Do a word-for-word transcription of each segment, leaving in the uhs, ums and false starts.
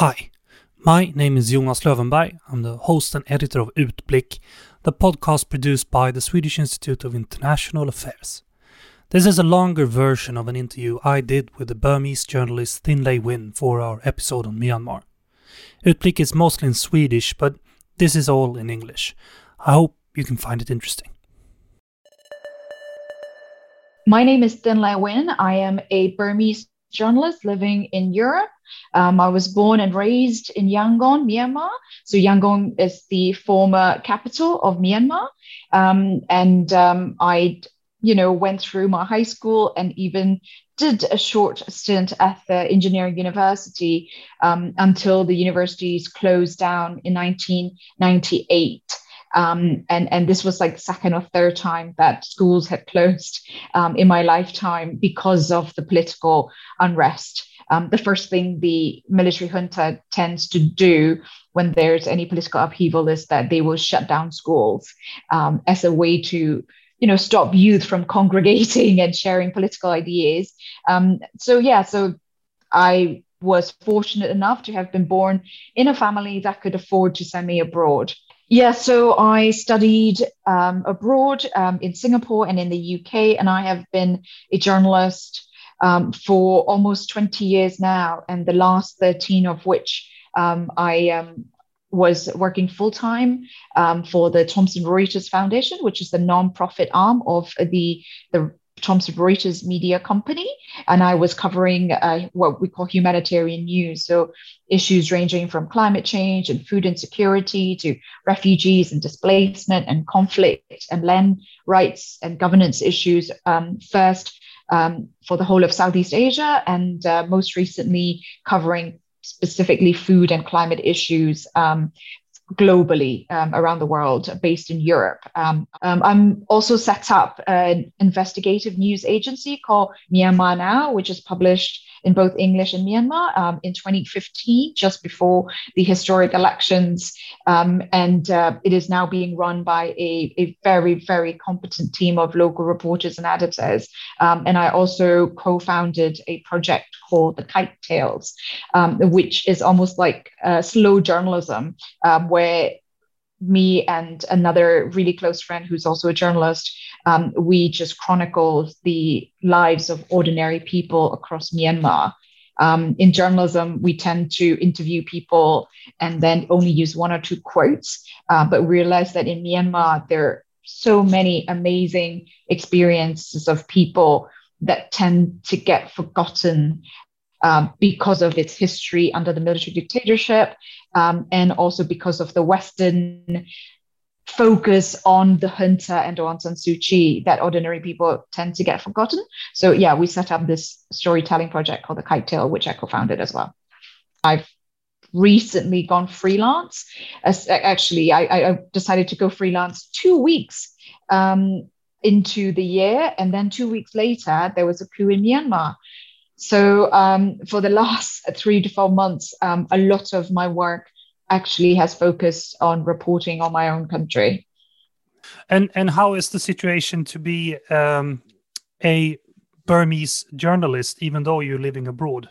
Hi, my name is Jonas Lövenberg. I'm the host and editor of Utblick, the podcast produced by the Swedish Institute of International Affairs. This is a longer version of an interview I did with the Burmese journalist Thin Lay Win for our episode on Myanmar. Utblick is mostly in Swedish, but this is all in English. I hope you can find it interesting. My name is Thin Lay Win. I am a Burmese journalist living in Europe. Um, I was born and raised in Yangon, Myanmar. So Yangon is the former capital of Myanmar. Um, and um, I, you know, went through my high school and even did a short stint at the engineering university um, until the universities closed down in nineteen ninety-eight. Um, and, and this was like the second or third time that schools had closed um, in my lifetime because of the political unrest. Um, the first thing the military junta tends to do when there's any political upheaval is that they will shut down schools um, as a way to, you know, stop youth from congregating and sharing political ideas. Um, so, yeah, so I was fortunate enough to have been born in a family that could afford to send me abroad. Yeah, so I studied um, abroad um, in Singapore and in the U K, and I have been a journalist um, for almost twenty years now, and the last thirteen of which um, I um, was working full-time um, for the Thomson Reuters Foundation, which is the non-profit arm of the, the Thomson Reuters media company, and I was covering uh, what we call humanitarian news, so issues ranging from climate change and food insecurity to refugees and displacement and conflict and land rights and governance issues, um, first um, for the whole of Southeast Asia, and uh, most recently covering specifically food and climate issues um, globally um, around the world, based in Europe. Um, um, I'm also set up an investigative news agency called Myanmar Now, which is published in both English and Myanmar um, in twenty fifteen, just before the historic elections. Um, and uh, it is now being run by a, a very, very competent team of local reporters and editors. Um, and I also co-founded a project called The Kite Tales, um, which is almost like uh, slow journalism, um, where me and another really close friend who's also a journalist, um, we just chronicle the lives of ordinary people across Myanmar. Um, in journalism, we tend to interview people and then only use one or two quotes, uh, but we realize that in Myanmar, there are so many amazing experiences of people that tend to get forgotten Um, because of its history under the military dictatorship, um, and also because of the Western focus on the junta and Aung San Suu Kyi, that ordinary people tend to get forgotten. So yeah, we set up this storytelling project called The Kite Tale, which I co-founded as well. I've recently gone freelance. As, actually, I, I decided to go freelance two weeks um, into the year, and then two weeks later, there was a coup in Myanmar. So um, for the last three to four months, um, a lot of my work actually has focused on reporting on my own country. And and how is the situation to be um, a Burmese journalist, even though you're living abroad?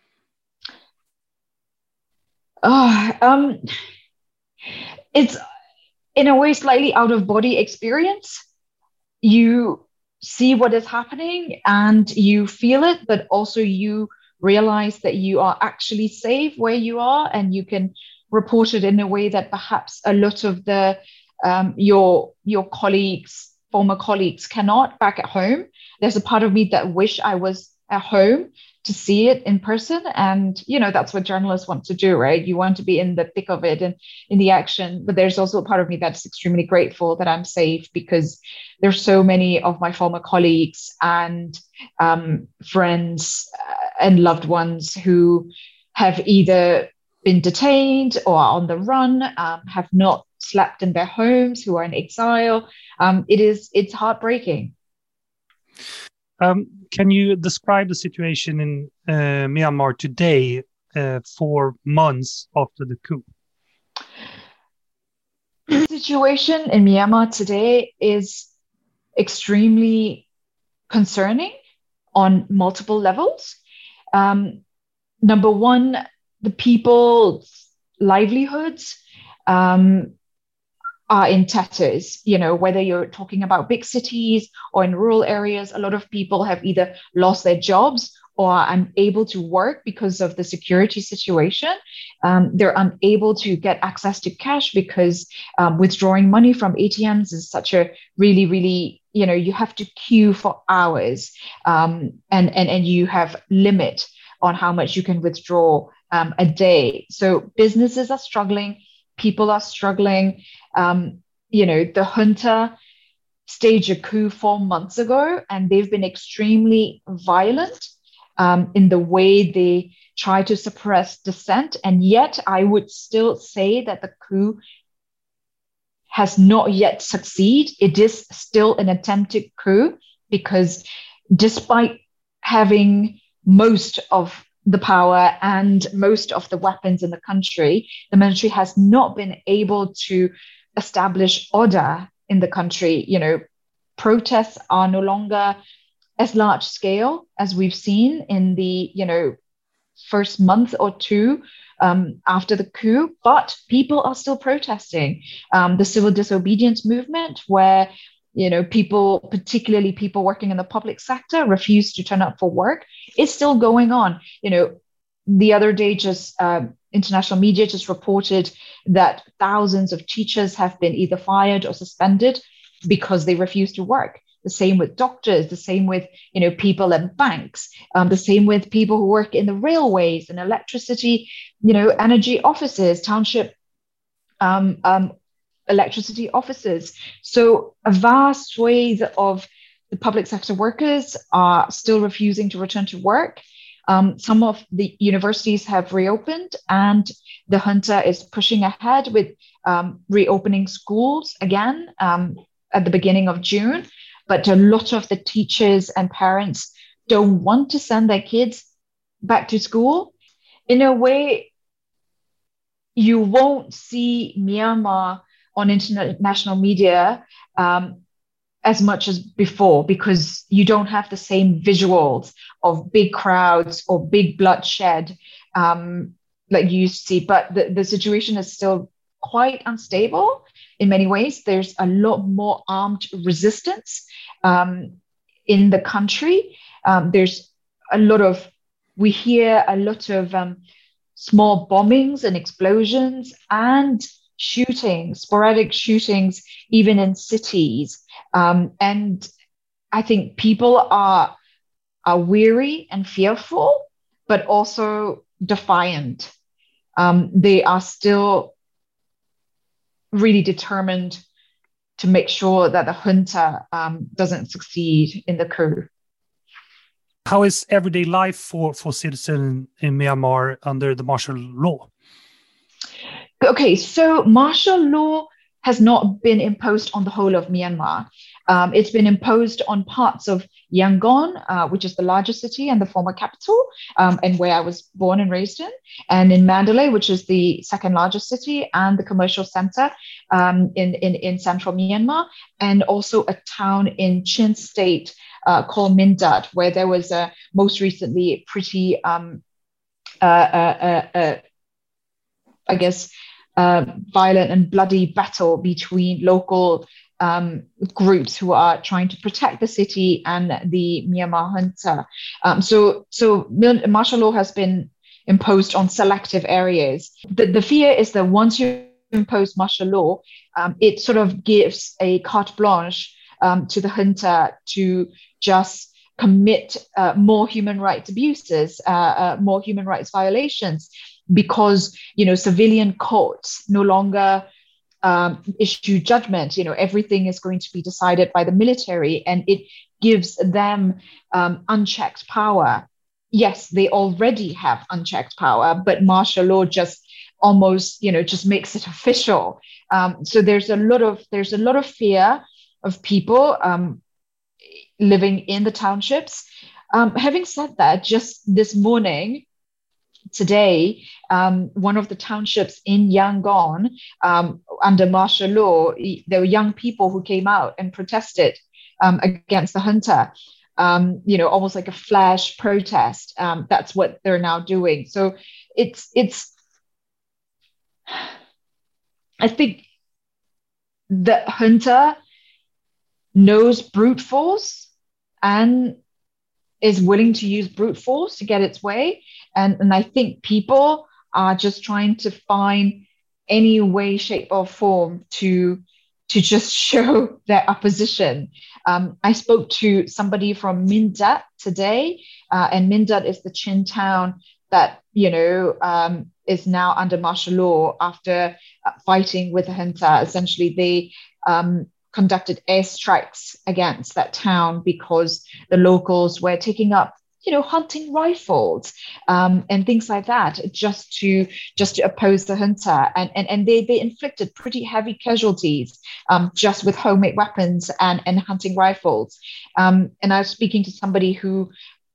Oh, um, it's in a way slightly out of body experience. You see what is happening and you feel it, but also you realize that you are actually safe where you are, and you can report it in a way that perhaps a lot of the um, your your colleagues, former colleagues, cannot back at home. There's a part of me that wish I was at home to see it in person, and you know that's what journalists want to do, right? You want to be in the thick of it and in the action. But there's also a part of me that's extremely grateful that I'm safe, because there's so many of my former colleagues and um, friends uh, and loved ones who have either been detained or are on the run, um, have not slept in their homes, who are in exile. Um, it is it's heartbreaking. Um, can you describe the situation in uh, Myanmar today, uh, four months after the coup? The situation in Myanmar today is extremely concerning on multiple levels. Um, number one, the people's livelihoods um, are in tatters. You know, whether you're talking about big cities or in rural areas, a lot of people have either lost their jobs or are unable to work because of the security situation. Um, they're unable to get access to cash because um, withdrawing money from A T Ms is such a really, really, you know, you have to queue for hours, um, and, and, and you have limit on how much you can withdraw um, a day. So businesses are struggling, people are struggling. Um, you know, the junta staged a coup four months ago, and they've been extremely violent um, in the way they try to suppress dissent. And yet, I would still say that the coup has not yet succeeded. It is still an attempted coup because despite having most of the power and most of the weapons in the country, the military has not been able to establish order in the country. You know, protests are no longer as large scale as we've seen in the, you know, first month or two um, after the coup, but people are still protesting. Um, the civil disobedience movement, where you know people, particularly people working in the public sector, refuse to turn up for work, is still going on. You know, the other day, just uh, international media just reported that thousands of teachers have been either fired or suspended because they refuse to work. The same with doctors, the same with, you know, people in banks, um, the same with people who work in the railways and electricity, you know, energy offices, township um, um, electricity offices. So a vast swathe of the public sector workers are still refusing to return to work. Um, some of the universities have reopened, and the junta is pushing ahead with um, reopening schools again um, at the beginning of June. But a lot of the teachers and parents don't want to send their kids back to school. In a way, you won't see Myanmar on international media um, as much as before, because you don't have the same visuals of big crowds or big bloodshed um, like you used to see. But the, the situation is still quite unstable in many ways. There's a lot more armed resistance um, in the country. Um, there's a lot of, we hear a lot of um, small bombings and explosions and shootings, sporadic shootings, even in cities. Um, and I think people are, are weary and fearful, but also defiant. Um, they are still really determined to make sure that the junta um, doesn't succeed in the coup. How is everyday life for, for citizens in Myanmar under the martial law? Okay, so martial law has not been imposed on the whole of Myanmar. Um, it's been imposed on parts of Yangon, uh, which is the largest city and the former capital, um, and where I was born and raised in, and in Mandalay, which is the second largest city and the commercial center um, in, in, in central Myanmar, and also a town in Chin State uh, called Mindat, where there was a most recently pretty, um, uh, uh, uh, uh, I guess, uh, violent and bloody battle between local Um, groups who are trying to protect the city and the Myanmar junta. Um, so, so martial law has been imposed on selective areas. The, the fear is that once you impose martial law, um, it sort of gives a carte blanche um, to the junta to just commit uh, more human rights abuses, uh, uh, more human rights violations, because, you know, civilian courts no longer Um, issue judgment. You know, everything is going to be decided by the military, and it gives them um, unchecked power. Yes, they already have unchecked power, but martial law just almost, you know, just makes it official. Um, so there's a lot of there's a lot of fear of people um, living in the townships. Um, having said that, just this morning, today, um, one of the townships in Yangon, um, under martial law, there were young people who came out and protested um, against the junta, um, you know, almost like a flash protest. Um, that's what they're now doing. So it's it's I think the junta knows brute force and is willing to use brute force to get its way. And, and I think people are just trying to find any way, shape, or form to to just show their opposition. Um, I spoke to somebody from Mindat today, uh, and Mindat is the Chin town that you know um, is now under martial law after uh, fighting with the junta. Essentially, they um, conducted airstrikes against that town because the locals were taking up, you know, hunting rifles um, and things like that, just to just to oppose the junta, and and and they they inflicted pretty heavy casualties um, just with homemade weapons and and hunting rifles. Um, and I was speaking to somebody who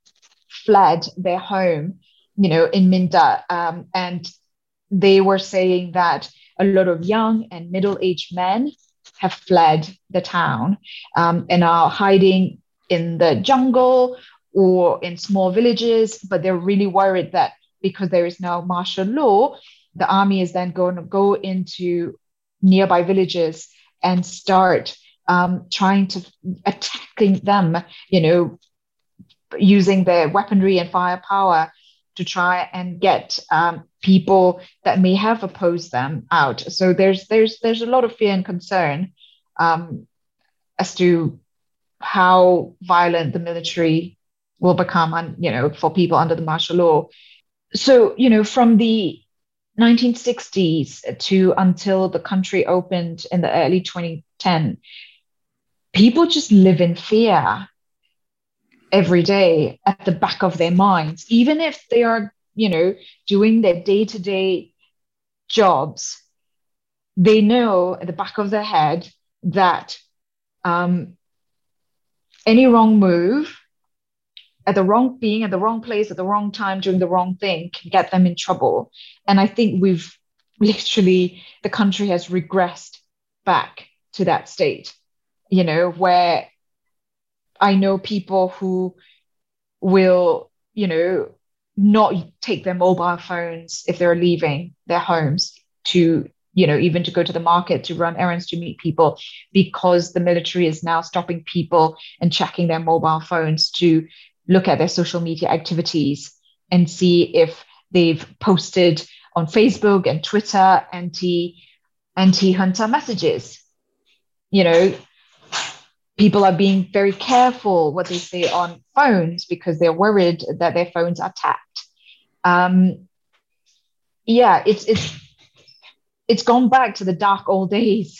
fled their home, you know, in Minda, um, and they were saying that a lot of young and middle-aged men have fled the town um, and are hiding in the jungle or in small villages, but they're really worried that because there is now martial law, the army is then going to go into nearby villages and start um, trying to attacking them, you know, using their weaponry and firepower to try and get um, people that may have opposed them out. So there's there's there's a lot of fear and concern um, as to how violent the military will become, and you know, for people under the martial law. So you know, from the nineteen sixties to until the country opened in the early twenty ten, people just live in fear every day at the back of their minds, even if they are, you know, doing their day-to-day jobs. They know at the back of their head that um, any wrong move at the wrong being at the wrong place at the wrong time doing the wrong thing can get them in trouble. And I think we've literally, the country has regressed back to that state, you know, where I know people who will, you know, not take their mobile phones if they're leaving their homes to, you know, even to go to the market, to run errands, to meet people, because the military is now stopping people and checking their mobile phones to look at their social media activities and see if they've posted on Facebook and Twitter anti anti-junta messages. You know, people are being very careful what they say on phones because they're worried that their phones are tapped. Um, yeah, it's it's it's gone back to the dark old days.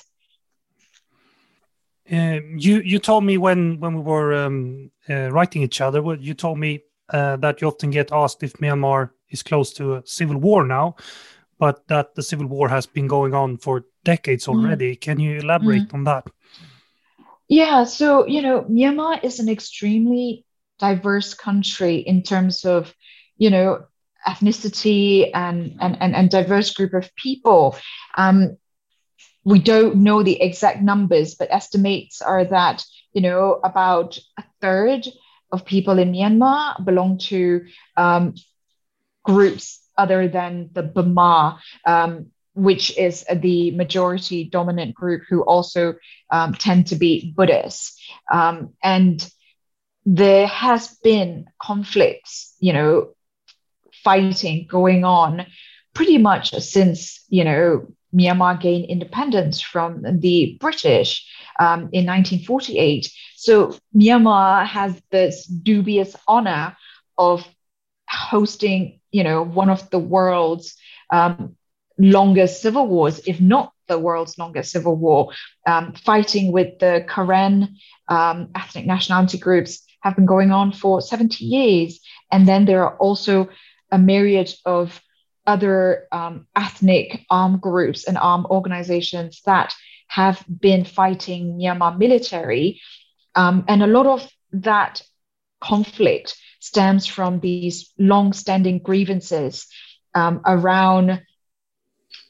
Uh, you you told me when when we were um, uh, writing each other, well, you told me uh, that you often get asked if Myanmar is close to a civil war now, but that the civil war has been going on for decades already. Mm. Can you elaborate mm. on that? Yeah, so, you know, Myanmar is an extremely diverse country in terms of, you know, ethnicity and and and, and diverse group of people. Um, we don't know the exact numbers, but estimates are that, you know, about a third of people in Myanmar belong to um, groups other than the Bama, um, which is the majority dominant group, who also um, tend to be Buddhists. Um, and there has been conflicts, you know, fighting going on pretty much since, you know, Myanmar gained independence from the British um, in nineteen forty-eight. So Myanmar has this dubious honor of hosting, you know, one of the world's um, longest civil wars, if not the world's longest civil war. Um, fighting with the Karen um, ethnic nationality groups have been going on for seventy years. And then there are also a myriad of other um, ethnic armed groups and armed organizations that have been fighting Myanmar military. Um, and a lot of that conflict stems from these long-standing grievances um, around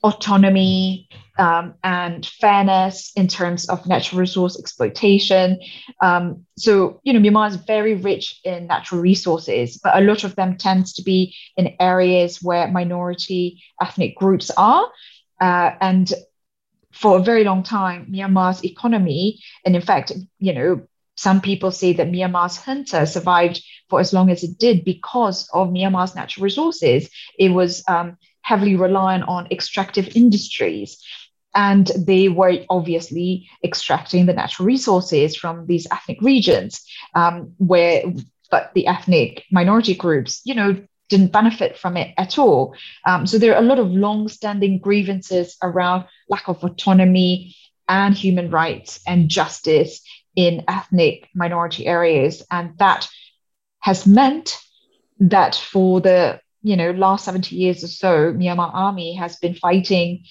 autonomy um, and fairness in terms of natural resource exploitation. Um, so, you know, Myanmar is very rich in natural resources, but a lot of them tends to be in areas where minority ethnic groups are. Uh, and for a very long time, Myanmar's economy, and in fact, you know, some people say that Myanmar's junta survived for as long as it did because of Myanmar's natural resources. It was um, heavily reliant on extractive industries. And they were obviously extracting the natural resources from these ethnic regions, um, where, but the ethnic minority groups, you know, didn't benefit from it at all. Um, so there are a lot of long-standing grievances around lack of autonomy and human rights and justice in ethnic minority areas. And that has meant that for the, you know, last seventy years or so, Myanmar army has been fighting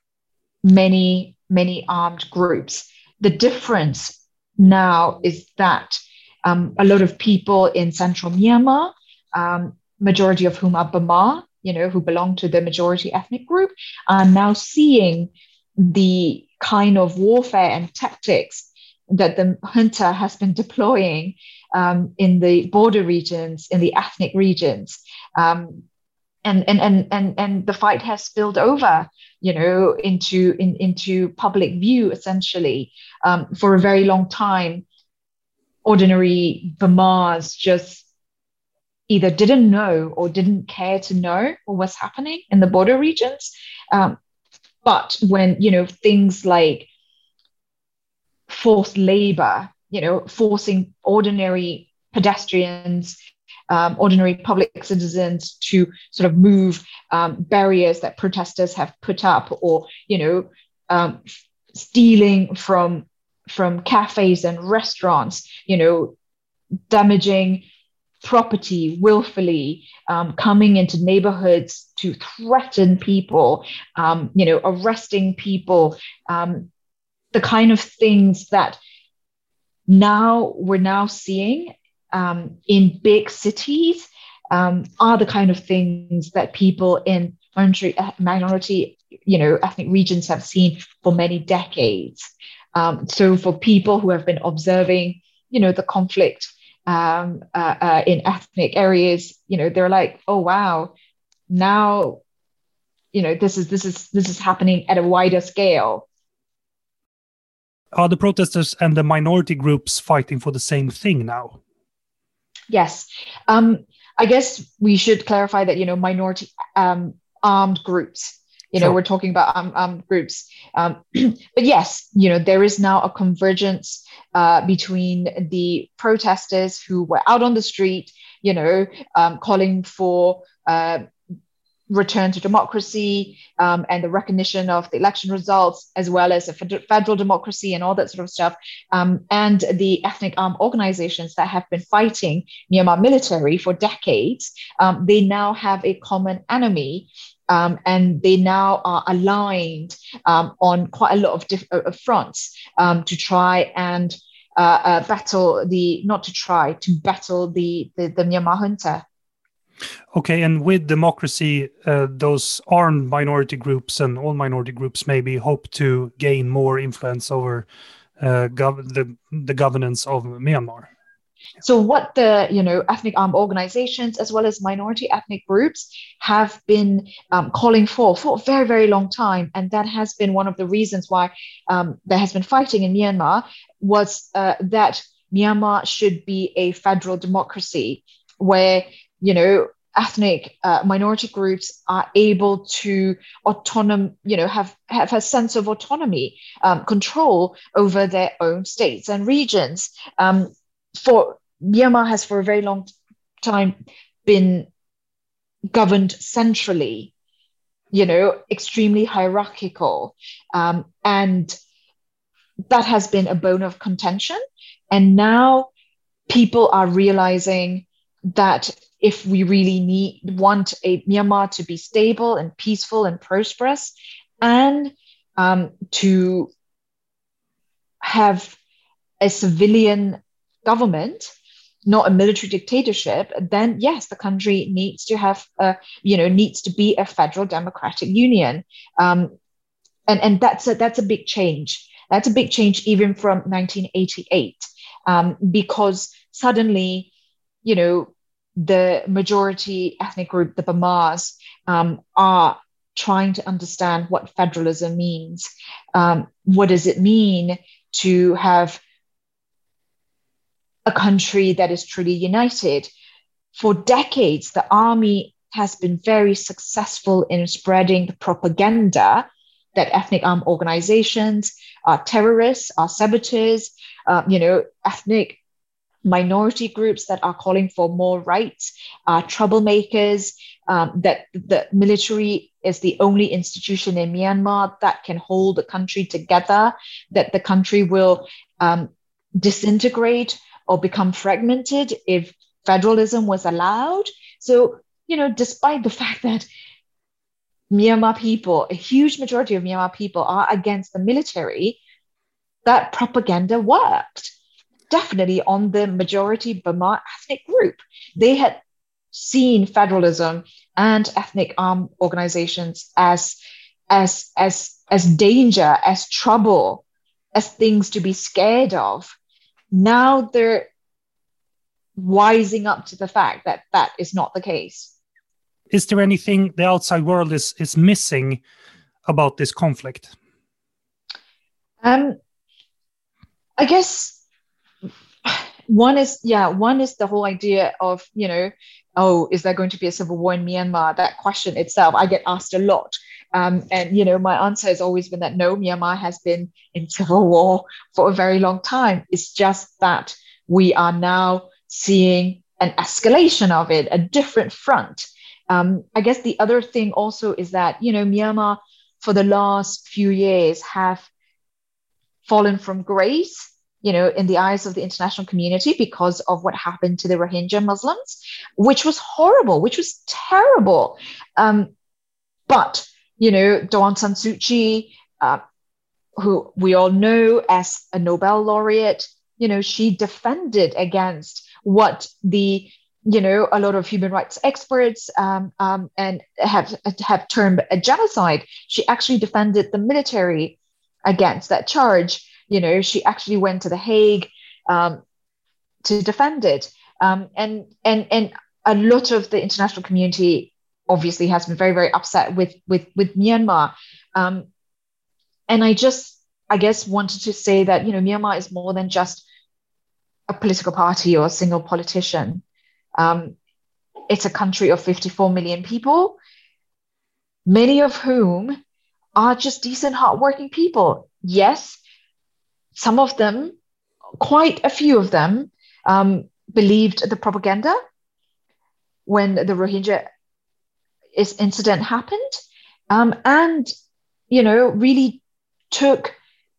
many, many armed groups. The difference now is that um, a lot of people in central Myanmar, um, majority of whom are Bamar, you know, who belong to the majority ethnic group, are now seeing the kind of warfare and tactics that the junta has been deploying um, in the border regions, in the ethnic regions. Um, and, and, and, and, and the fight has spilled over, you know, into, in, into public view, essentially. Um, for a very long time, ordinary Bamars just either didn't know or didn't care to know what was happening in the border regions. Um, but when, you know, things like forced labor, you know, forcing ordinary pedestrians, um, ordinary public citizens to sort of move um, barriers that protesters have put up, or, you know, um, stealing from from cafes and restaurants, you know, damaging property willfully, um, coming into neighborhoods to threaten people, um, you know, arresting people, um, the kind of things that now we're now seeing um, in big cities um, are the kind of things that people in minority, minority, you know, ethnic regions have seen for many decades. Um, so for people who have been observing, you know, the conflict um, uh, uh, in ethnic areas, you know, they're like, oh wow, now, you know, this is this is this is happening at a wider scale. Are the protesters and the minority groups fighting for the same thing now? Yes. Um, I guess we should clarify that, you know, minority um, armed groups, you know, sure. We're talking about armed, armed groups. Um, but yes, you know, there is now a convergence uh, between the protesters who were out on the street, you know, um, calling for uh, return to democracy um, and the recognition of the election results, as well as a fed- federal democracy and all that sort of stuff. Um, and the ethnic armed organizations that have been fighting Myanmar military for decades, um, they now have a common enemy. Um, and they now are aligned um, on quite a lot of diff- uh, fronts um, to try and uh, uh, battle the, not to try, to battle the, the, the Myanmar junta. Okay, and with democracy, uh, those armed minority groups and all minority groups maybe hope to gain more influence over uh, gov- the, the governance of Myanmar. So what the, you know, ethnic armed organizations as well as minority ethnic groups have been um, calling for for a very, very long time, and that has been one of the reasons why um, there has been fighting in Myanmar, was uh, that Myanmar should be a federal democracy where, you know, ethnic uh, minority groups are able to autonom, you know, have, have a sense of autonomy, um, control over their own states and regions. Um, for Myanmar has for a very long time been governed centrally, you know, extremely hierarchical. Um, and that has been a bone of contention. And now people are realizing that if we really need want a Myanmar to be stable and peaceful and prosperous, and um, to have a civilian government, not a military dictatorship, then yes, the country needs to have a, you know, needs to be a federal democratic union. Um, and, and that's a, that's a big change. That's a big change even from nineteen eighty-eight, um, because suddenly, you know, the majority ethnic group, the Bamars, um, are trying to understand what federalism means. Um, what does it mean to have a country that is truly united? For decades, the army has been very successful in spreading the propaganda that ethnic armed organizations are terrorists, are saboteurs, uh, you know, ethnic minority groups that are calling for more rights, are troublemakers, um, that the military is the only institution in Myanmar that can hold the country together, that the country will um, disintegrate or become fragmented if federalism was allowed. So, you know, despite the fact that Myanmar people, a huge majority of Myanmar people are against the military, that propaganda worked. Definitely on the majority Bamar ethnic group. They had seen federalism and ethnic armed organizations as, as, as, as danger, as trouble, as things to be scared of. Now they're wising up to the fact that that is not the case. Is there anything the outside world is, is missing about this conflict? Um, I guess one is, yeah, one is the whole idea of, you know, oh, is there going to be a civil war in Myanmar? That question itself, I get asked a lot. Um, and, you know, my answer has always been that no, Myanmar has been in civil war for a very long time. It's just that we are now seeing an escalation of it, a different front. Um, I guess the other thing also is that, you know, Myanmar for the last few years have fallen from grace, you know, in the eyes of the international community because of what happened to the Rohingya Muslims, which was horrible, which was terrible. Um, but, you know, Daw Aung San Suu Kyi, uh, who we all know as a Nobel laureate, you know, she defended against what the, you know, a lot of human rights experts um, um, and have have termed a genocide. She actually defended the military against that charge. You know, she actually went to The Hague um, to defend it. Um, and, and, and a lot of the international community obviously has been very, very upset with, with, with Myanmar. Um, and I just, I guess, wanted to say that, you know, Myanmar is more than just a political party or a single politician. Um, it's a country of fifty-four million people, many of whom are just decent, hardworking people. Yes, some of them, quite a few of them, um, believed the propaganda when the Rohingya is, incident happened, um, and, you know, really took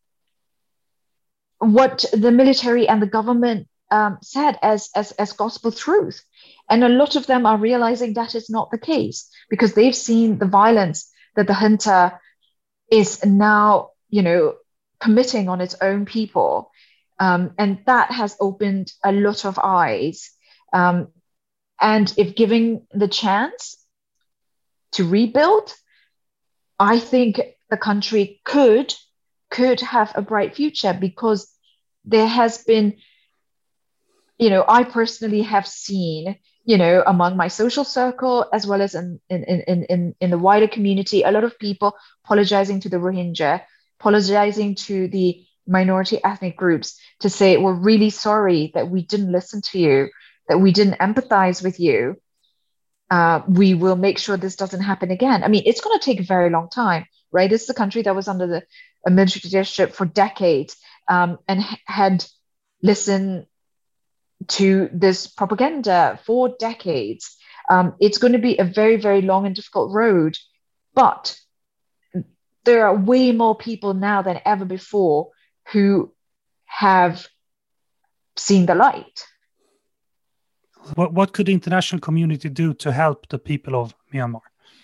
what the military and the government um, said as, as, as gospel truth. And a lot of them are realizing that is not the case because they've seen the violence that the junta is now, you know, committing on its own people. Um, and that has opened a lot of eyes. Um, and if given the chance to rebuild, I think the country could, could have a bright future because there has been, you know, I personally have seen, you know, among my social circle, as well as in, in, in, in, in the wider community, a lot of people apologizing to the Rohingya, apologizing to the minority ethnic groups to say, we're really sorry that we didn't listen to you, that we didn't empathize with you. Uh, we will make sure this doesn't happen again. I mean, it's going to take a very long time, right? This is a country that was under the a military dictatorship for decades um, and h- had listened to this propaganda for decades. Um, it's going to be a very, very long and difficult road, but there are way more people now than ever before who have seen the light. What, what could the international community do to help the people of Myanmar?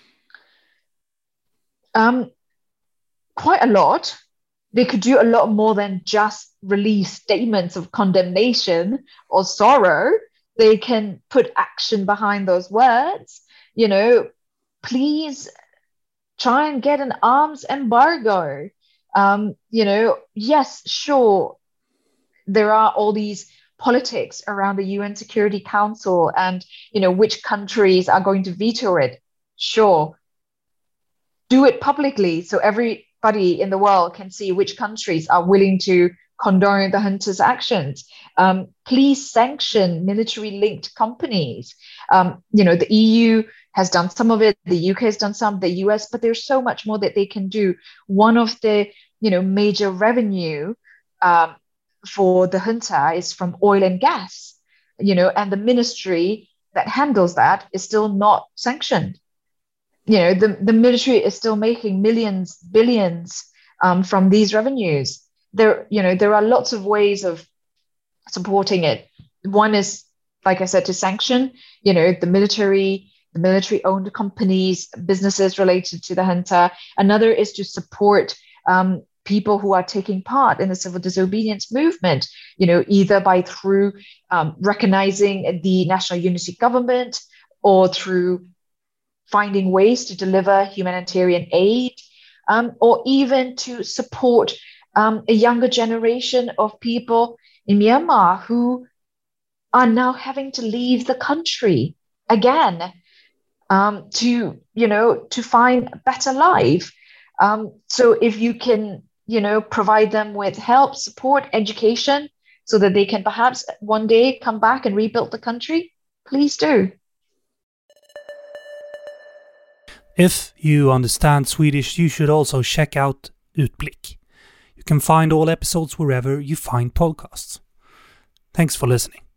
Um, quite a lot. They could do a lot more than just release statements of condemnation or sorrow. they can put action behind those words, you know, please try and get an arms embargo. Um, you know, yes, sure, there are all these politics around the U N Security Council and, you know, which countries are going to veto it. Sure, do it publicly so everybody in the world can see which countries are willing to condone the hunters' actions. Um, please sanction military-linked companies. Um, you know, the E U has done some of it, the U K has done some, the U S, but there's so much more that they can do. One of the, you know, major revenue um, for the junta is from oil and gas, you know, and the ministry that handles that is still not sanctioned. You know, the, the military is still making millions, billions um, from these revenues. There, you know, there are lots of ways of supporting it. One is, like I said, to sanction, you know, the military, the military-owned companies, businesses related to the junta. Another is to support um, people who are taking part in the civil disobedience movement, you know, either by through um, recognizing the national unity government or through finding ways to deliver humanitarian aid, um, or even to support um, a younger generation of people in Myanmar who are now having to leave the country again um, to, you know, to find a better life. Um, so if you can, you know, provide them with help, support, education, so that they can perhaps one day come back and rebuild the country, please do. If you understand Swedish, you should also check out Utblick. You can find all episodes wherever you find podcasts. Thanks for listening.